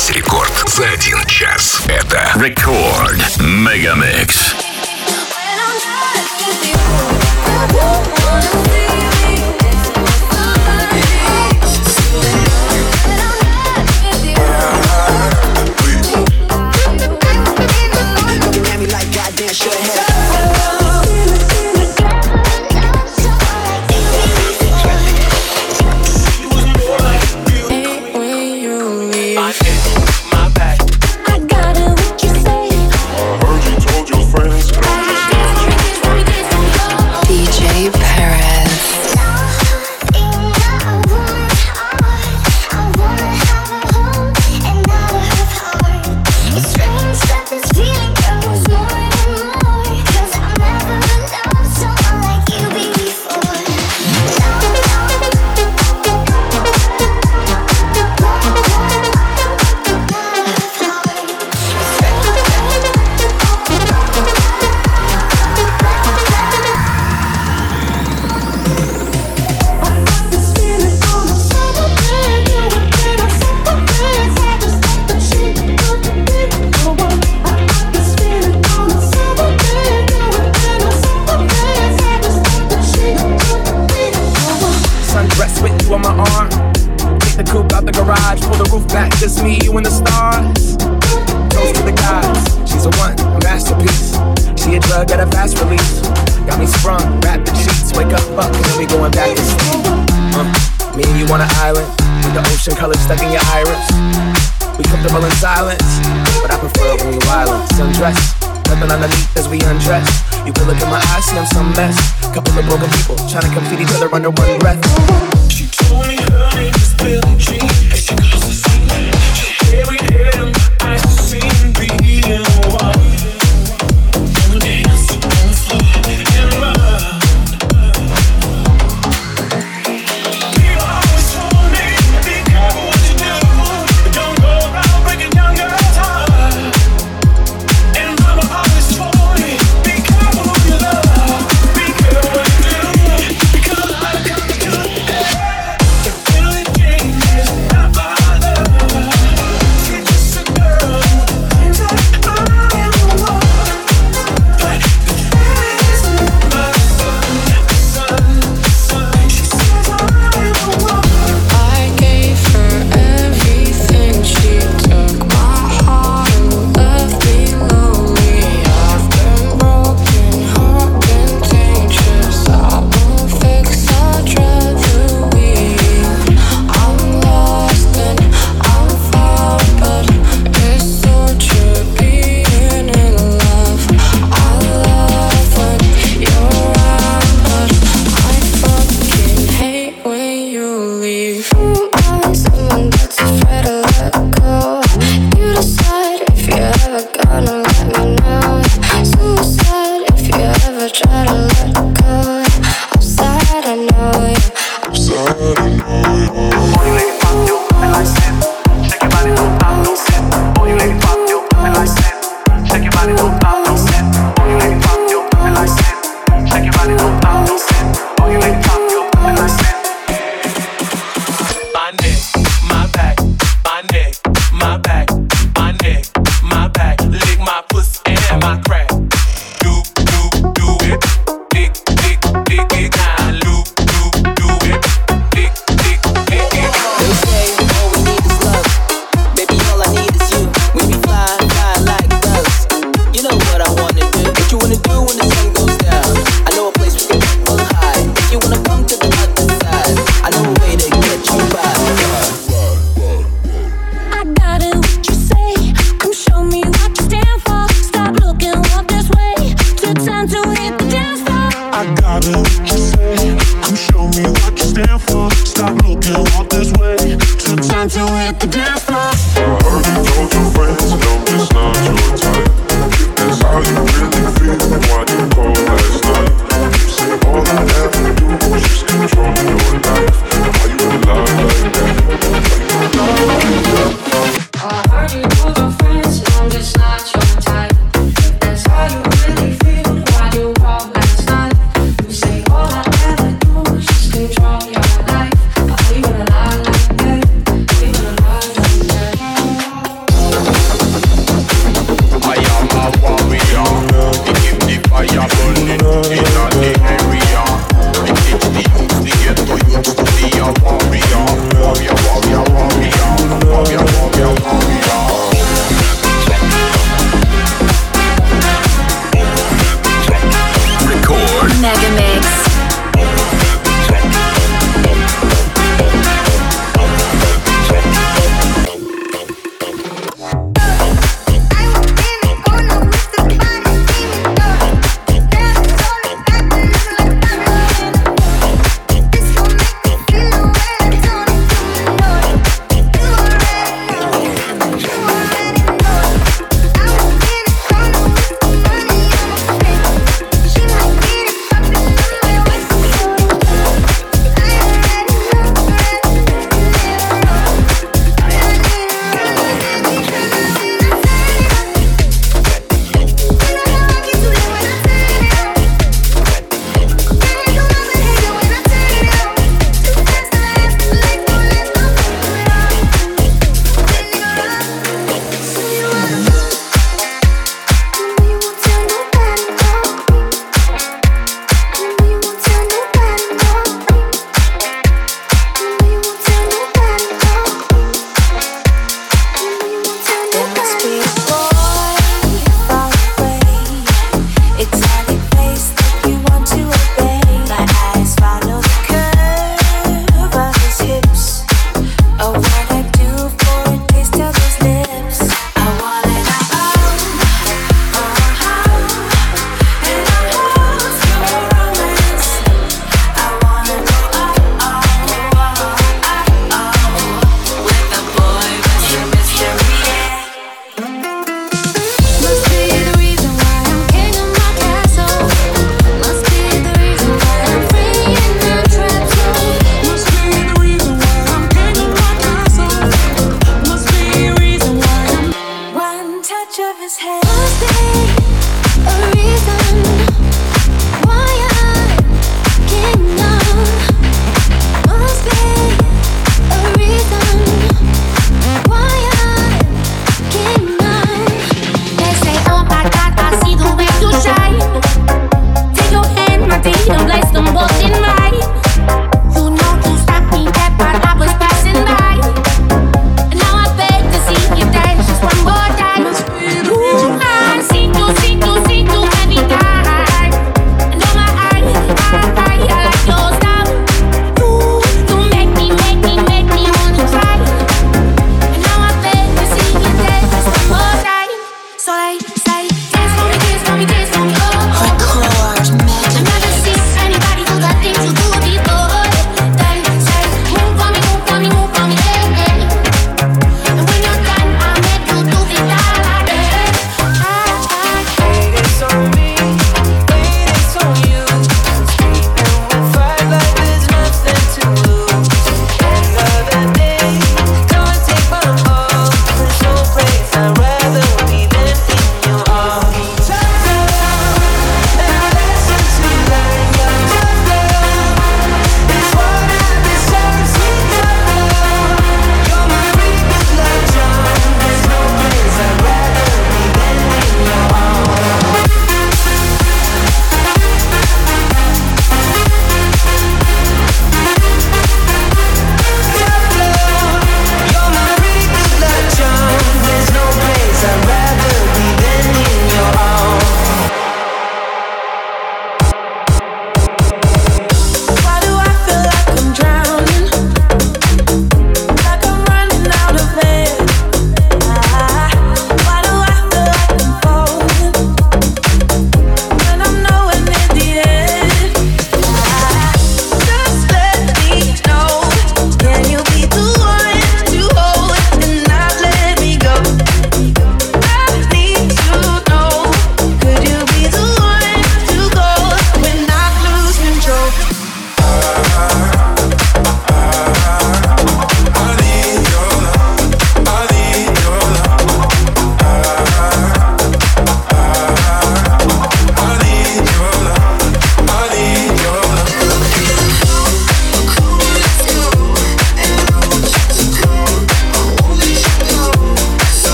Весь рекорд за 1 час. Это Рекорд Мегамикс. Trying to compete each other under one breath. She told me her name is Billie Jean. She calls the scene. She carried him. I seen being one. On the dance floor and run. People always told me, be careful what you do. Don't go around breaking young girls' heart. And mama always told me, be careful who you love. Be careful what you do.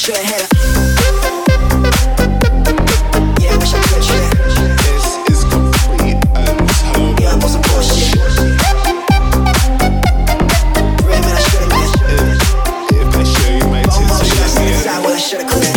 should've had a. Yeah, I wish I could, yeah. This is complete and total. Yeah, I'm on some bullshit. Real man, I should've been. If they show you my tits, Almost should I stay inside what I should've quit.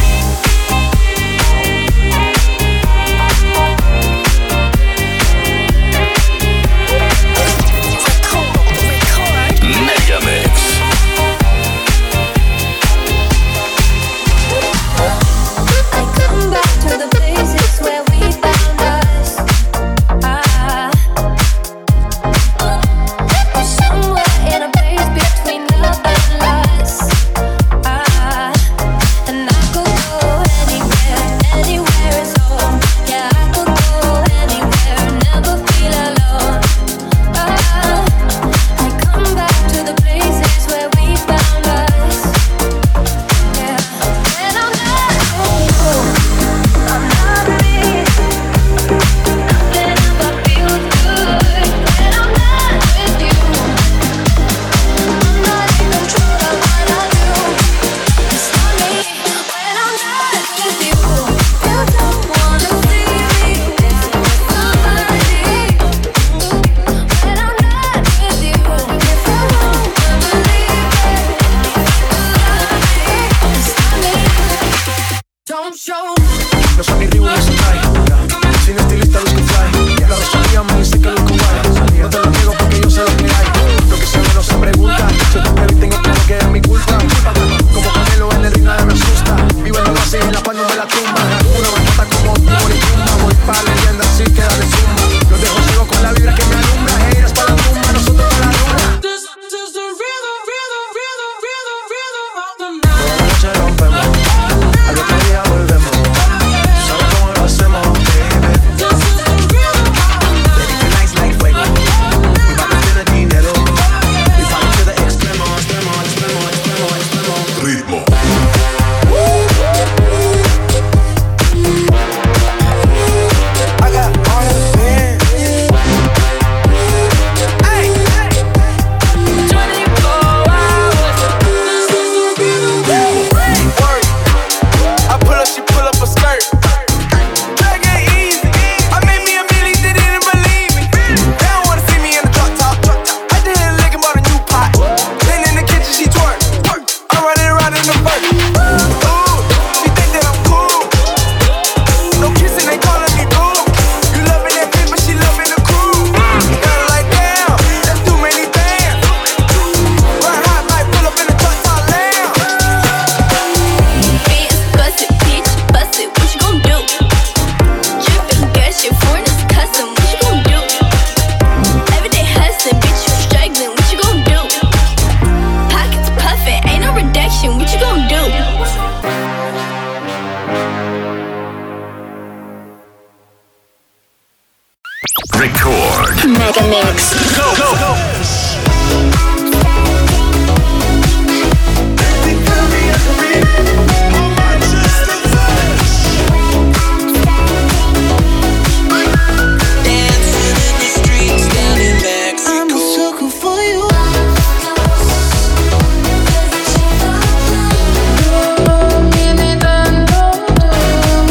Record. Mega Mix. Go, go, go.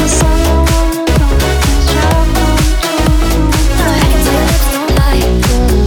Like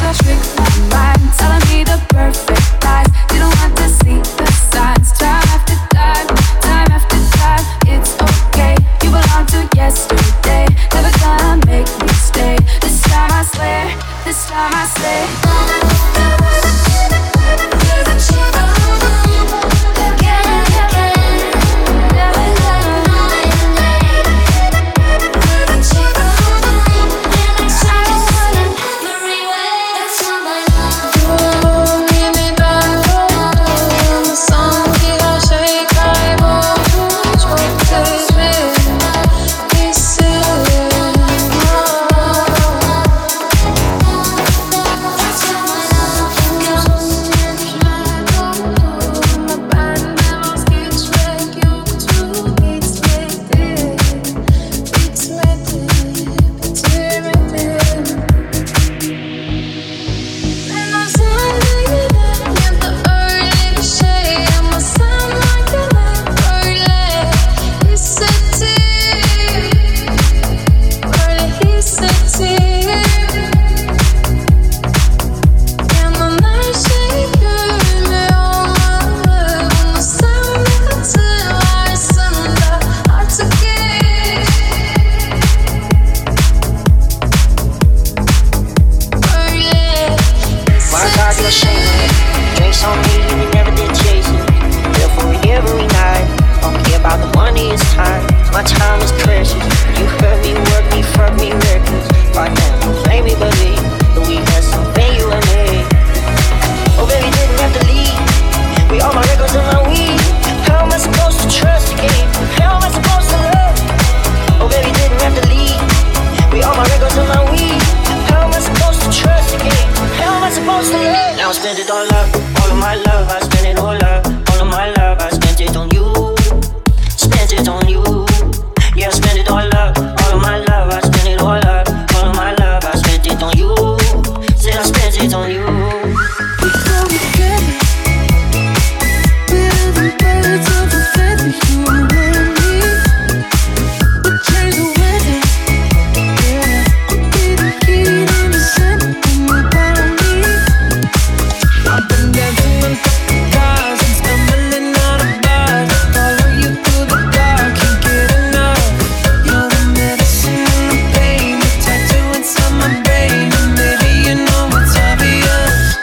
Tattoo inside my brain, and maybe you know it's obvious.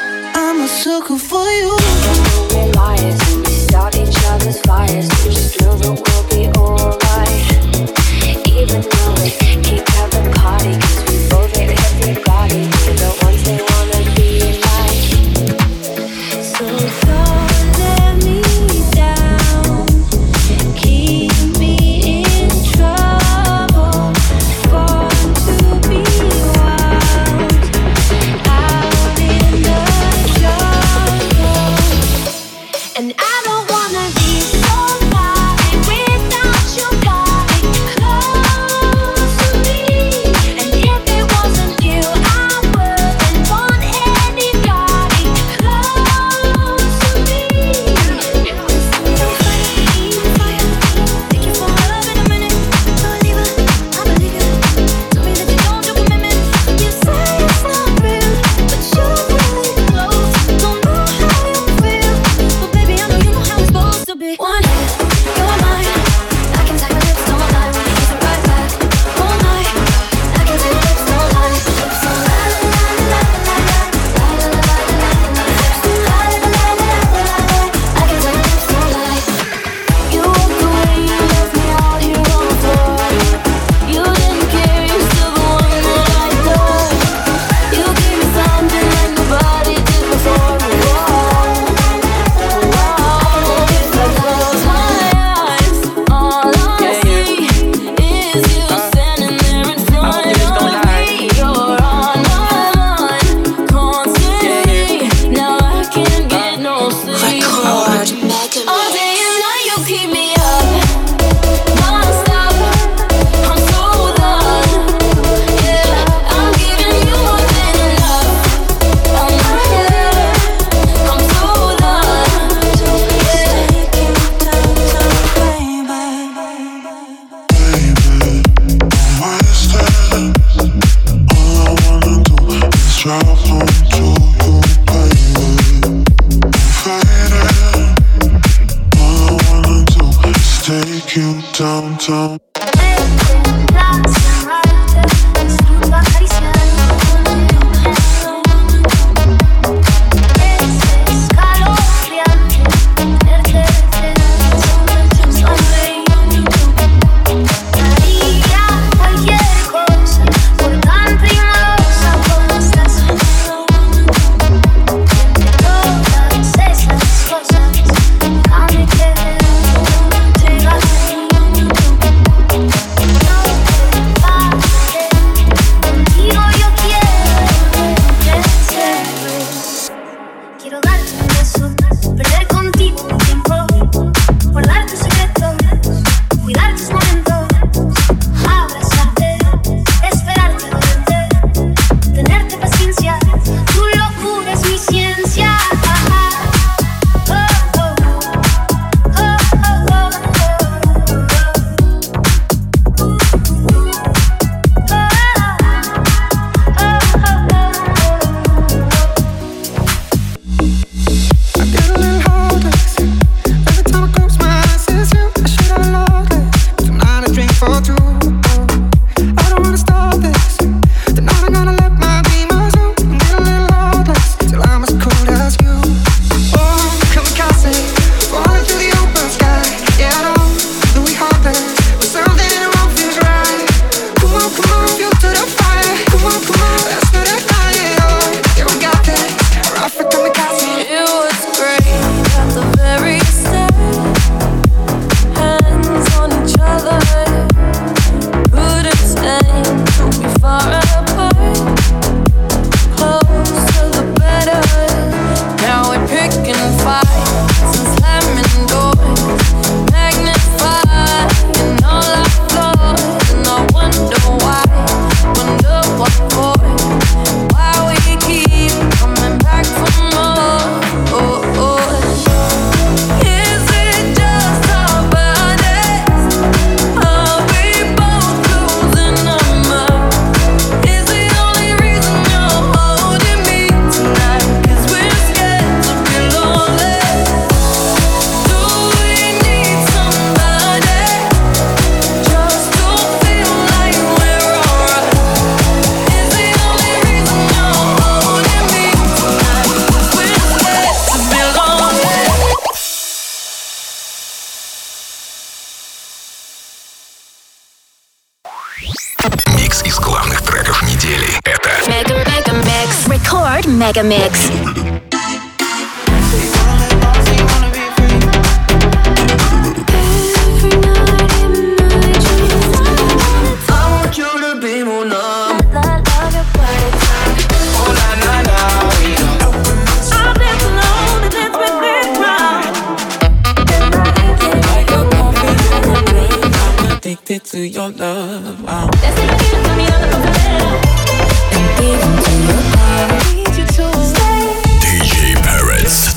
downtown. Микс из главных треков недели. Это Record Mega Mix. Addicted to your love. DJ Parrots.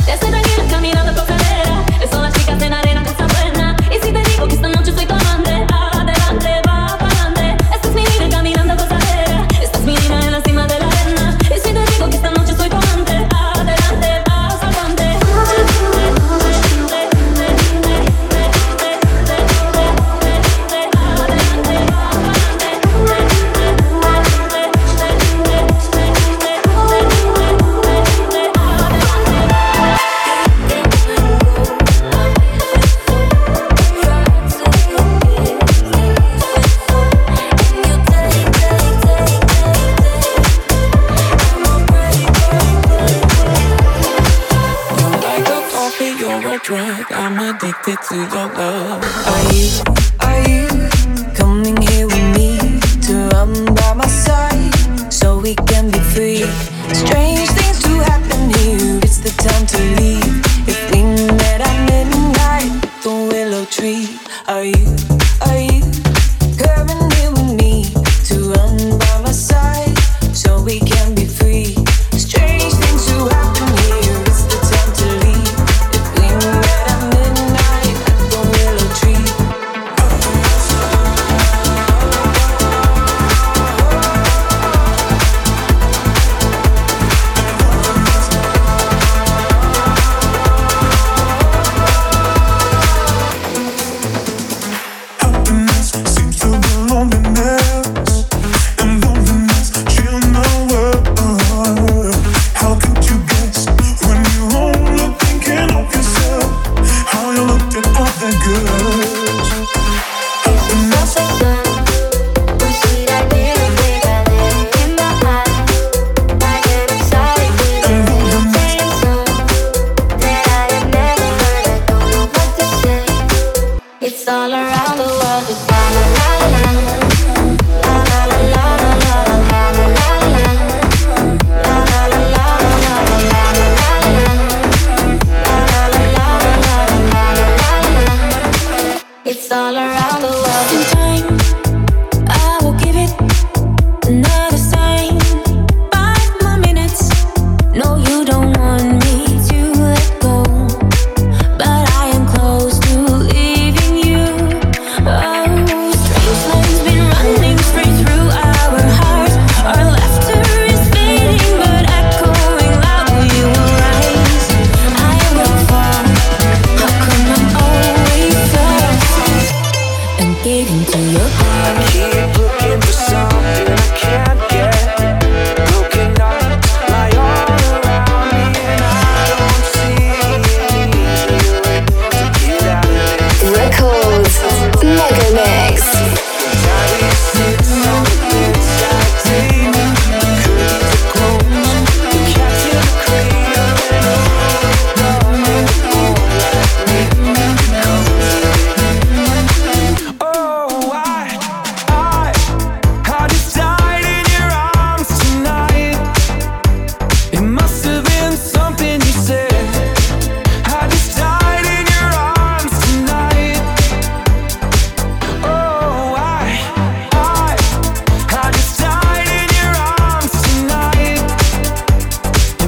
Drug, I'm addicted to your love. Are you coming here with me to run by my side so we can be free? Strange things do happen here, it's the time to leave. If we met at midnight, the willow tree. Are you coming here with me to run by my side so we can be free? Strange things do happen here, it's the time to leave.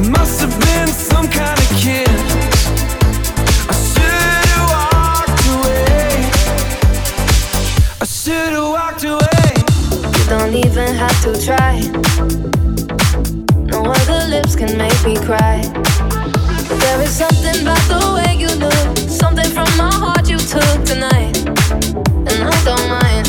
Must have been some kind of kiss. I should've walked away. I should've walked away. You don't even have to try. No other lips can make me cry. But there is something about the way you look, something from my heart you took tonight, and I don't mind.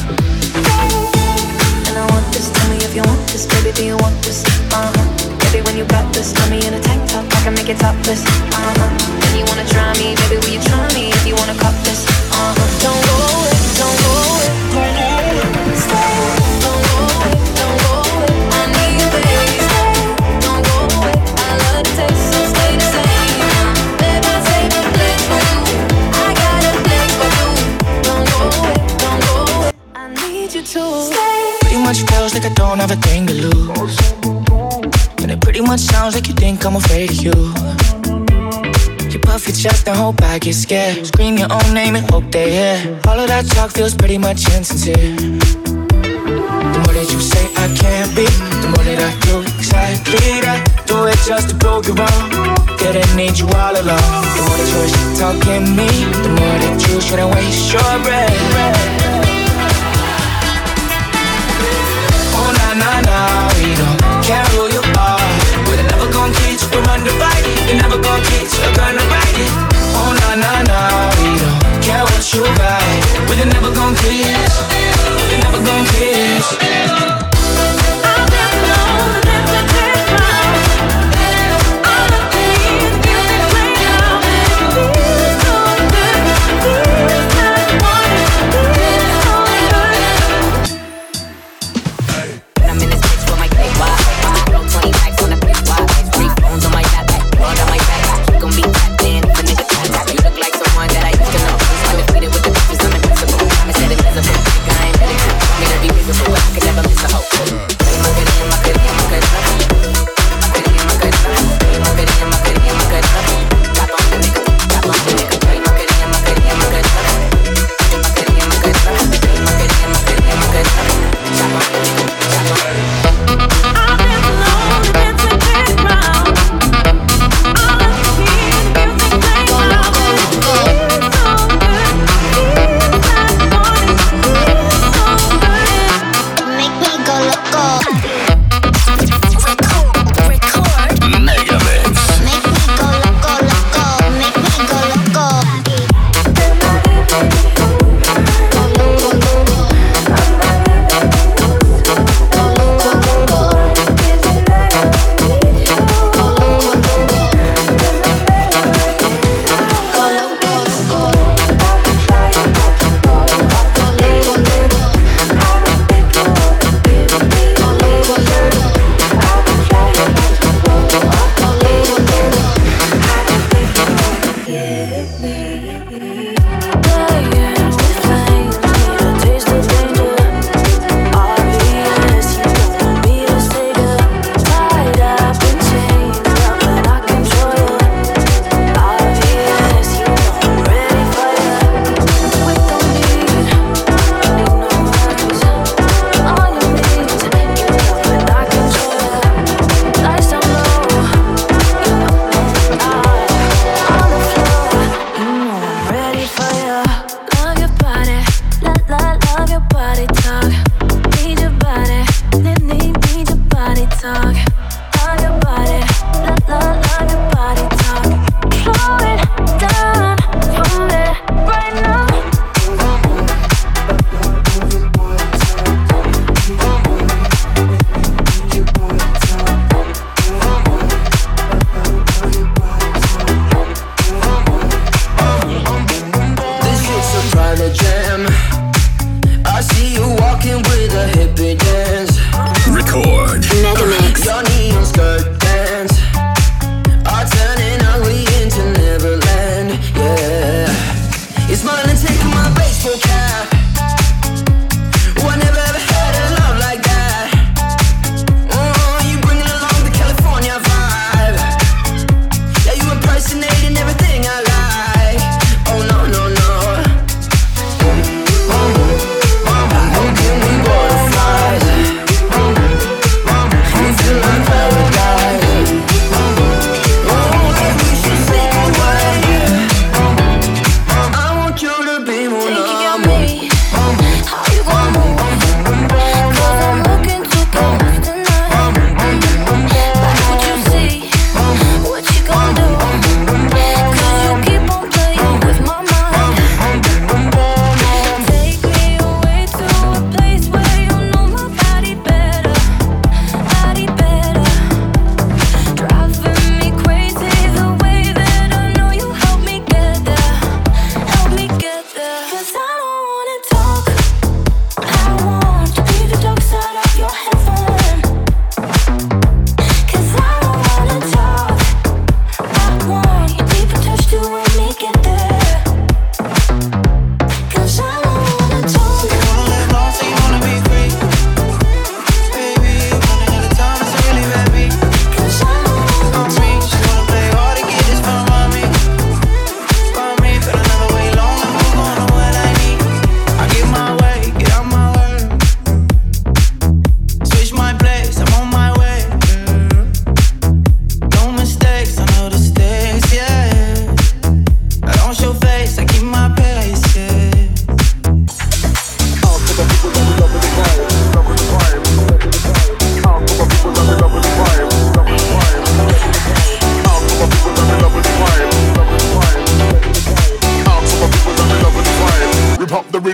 And I want this, tell me if you want this, baby, do you want this? Baby, when you got this, tell me in a tank top, I can make it topless. And you wanna try me, baby, will you try me if you wanna cop this? Don't go away, don't go away, don't go away, stay. Don't go away, don't go away, I need you, baby. Stay, don't go away, I love the taste, so stay the same. Baby, I save a place for you, I got a place for you. Don't go away, don't go away, I need you to stay. Pretty much feels like I don't have a thing to lose, and it pretty much sounds like you think I'm afraid of you. You puff your chest and hope I get scared. Scream your own name and hope they hear. All of that talk feels pretty much insincere. The more that you say I can't be, the more that I do exactly that. Do it just to prove you wrong. Didn't need you all along. The more that you're shit talking me, the more that you shouldn't waste your breath. Oh na na na, we don't care who you are. We're never gonna teach you undivided. You're never gonna teach you're gonna ride it. Oh na na na, we don't care what you got. We're never gonna kiss. We're never gonna kiss. I've been alone, never take mine. All the things you can play out. Feels so good, feels like wanting, feels so good. I'm in this bitch with my cake, why?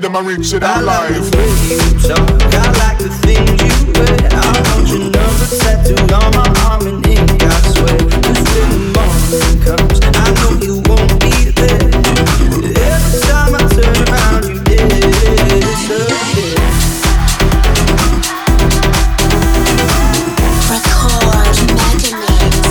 them a rich in our life. I like the way you talk, I like the things you wear. I want your number tattooed on my arm in ink, I swear. 'Cause when the morning comes, I know you won't be there. Every time I turn around, you disappear. Record Mega Mix.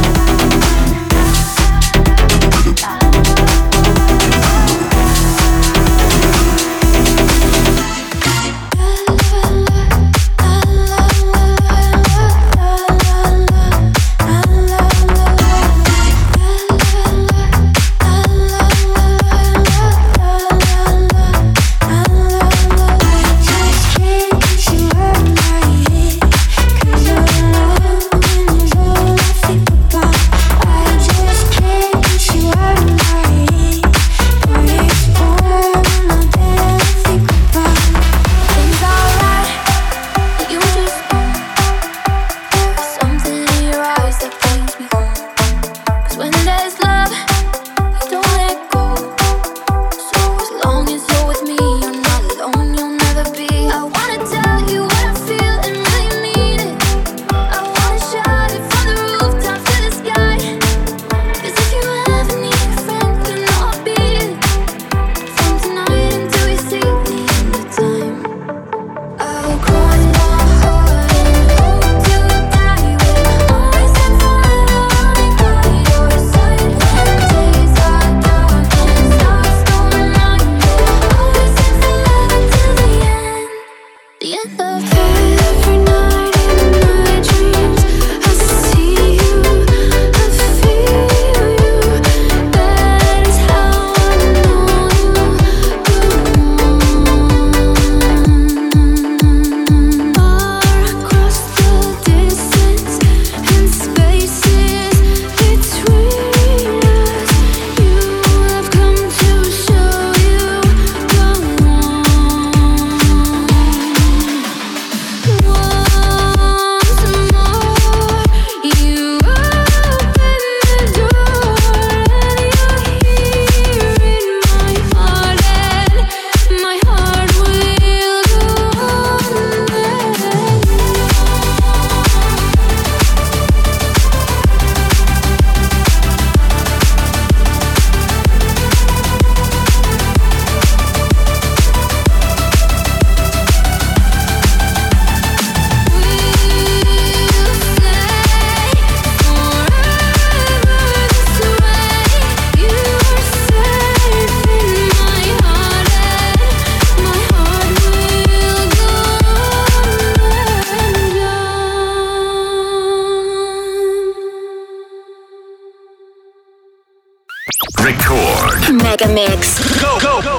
Record Mega Mix. Go, go, go.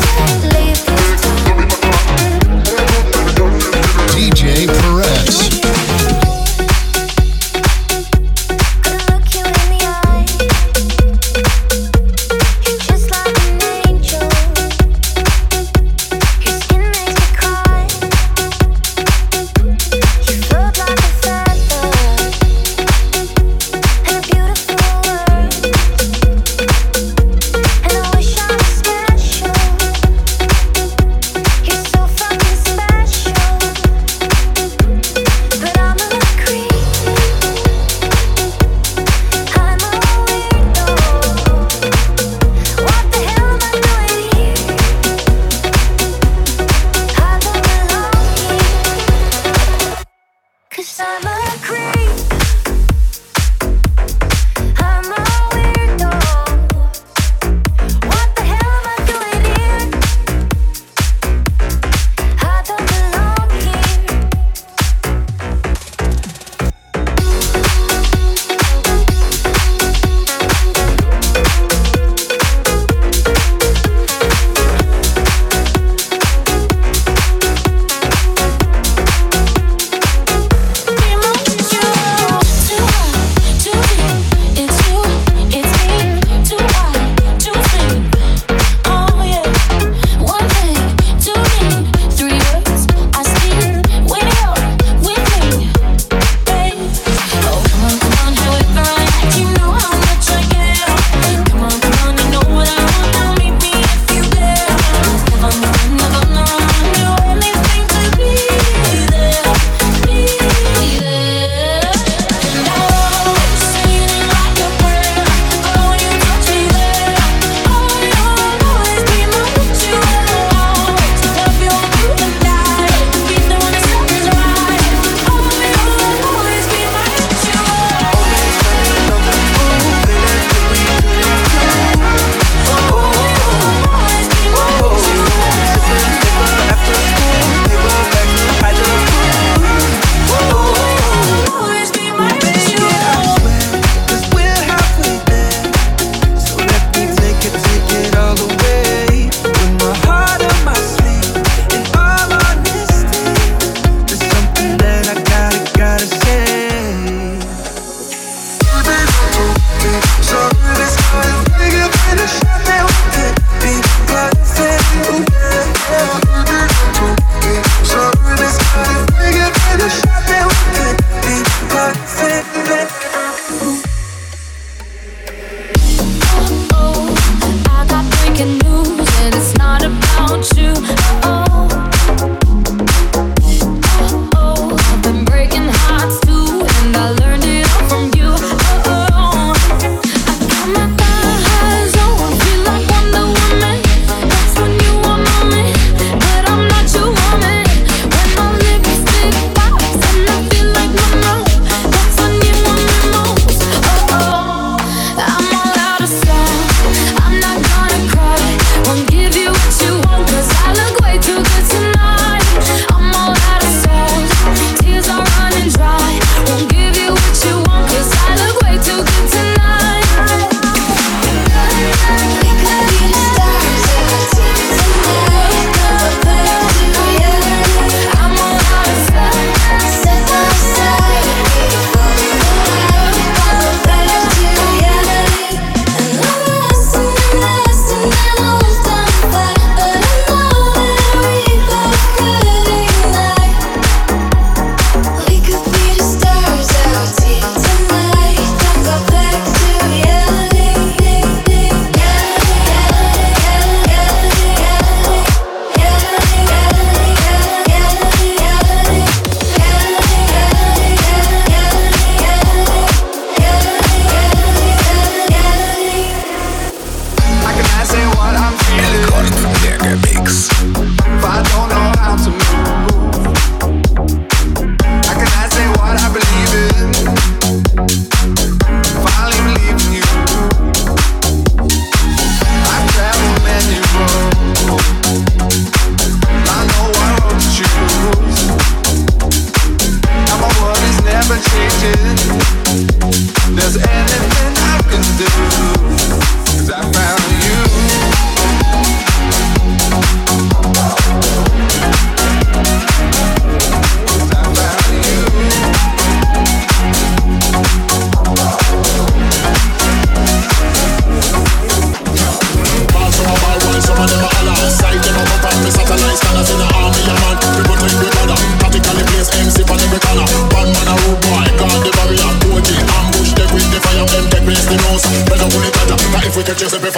DJ Perez.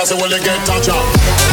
say when they get touch up.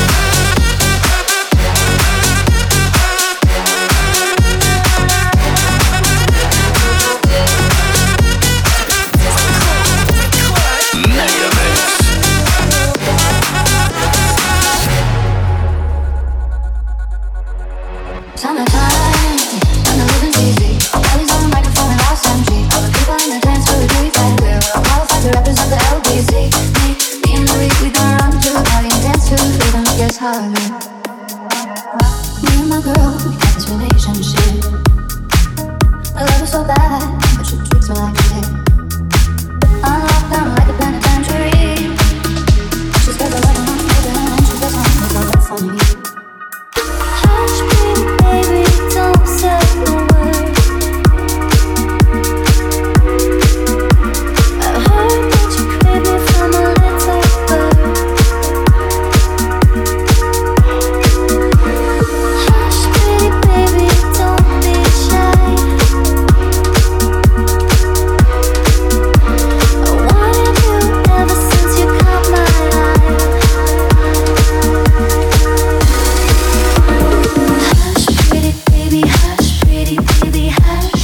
Summertime, and the living's easy. Kelly's on the microphone and lost MG. All the people in the dance floor do it right there. We're qualified to represent the LBC. Me and Louis, we don't run to the party and dance to the rhythm. Guess how I live. Me and my girl, we got this relationship. I love her so bad, but she treats me like shit. I'm locked down like a penitentiary. She's got the wedding on me, and she does something so that's on me. Hush, baby, don't say a word. I heard that you crave me from a little bird. Hush, pretty baby, don't be shy. I wanted you ever since you caught my eye. Hush, pretty baby, hush, pretty baby, hush.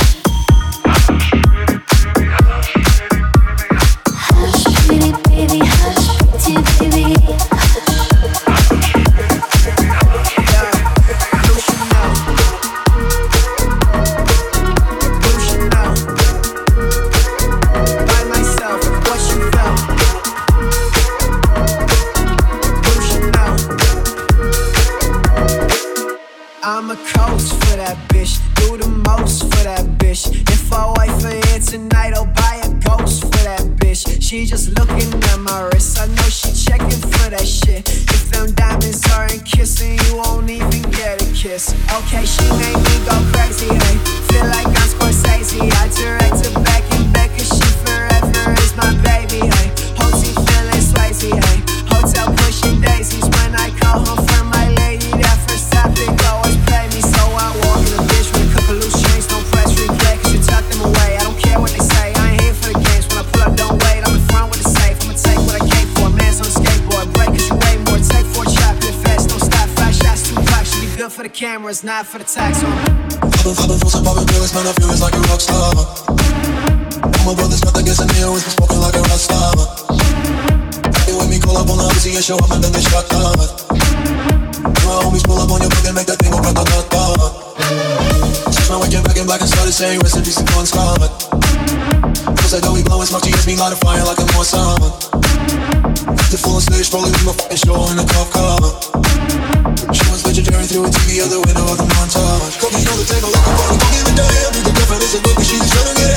Hush, pretty baby, hush, pretty baby. By myself, what you felt. You should know. I'm a coach for that bitch. Do the most for that bitch. If I wait for it tonight, I'll buy a ghost for that bitch. She just looking at my wrist. I know she checking for that shit. If them diamonds aren't kissing, you won't even get a kiss. Okay, she made me go crazy, hey. Feel like I'm Scorsese. I direct her back and back, cause she forever is my baby, hey. Hottie feeling Swayze, hey. Hotel pushing daisies when I call home for my lady. That first topic always play me, so I walk in a bitch with a couple loose chains. Don't press replay, cause you tuck them away. I don't care what they say, I ain't here for the games. When I pull up, don't wait, I'm in front with the safe. I'ma take what I came for, man's on a skateboard. Break cause you weigh more, take 4 chocolate fast. Don't stop, 5 shots, 2 clocks. Should be good for the cameras, not for the tax on. I've been frozen, popping pills, man, I feel it's like a rock star. All my brothers got the gas and they always been smoking like a rock star. They with me, call up on the Uzi and show up and then they shot down. My homies pull up on your block and make that thing go grata-ta-ta. Switch my weekend back in black and started saying rest in peace to Bon Scott. Feels like that we blowing smoke, GS me light a fire like a more summer. The full on stage, probably with my fucking show in a cop car. She was vegetarian through a TV out the window of the montage. Cooking on the table like a party, don't give a damn. The girlfriend isn't good, but she's trying to get